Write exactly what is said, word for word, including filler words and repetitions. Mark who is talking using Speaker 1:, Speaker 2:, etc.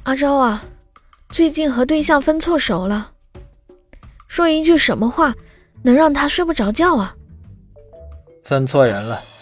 Speaker 1: 阿昭啊，最近和对象分错手了，说一句什么话能让他睡不着觉啊？
Speaker 2: 分错人了。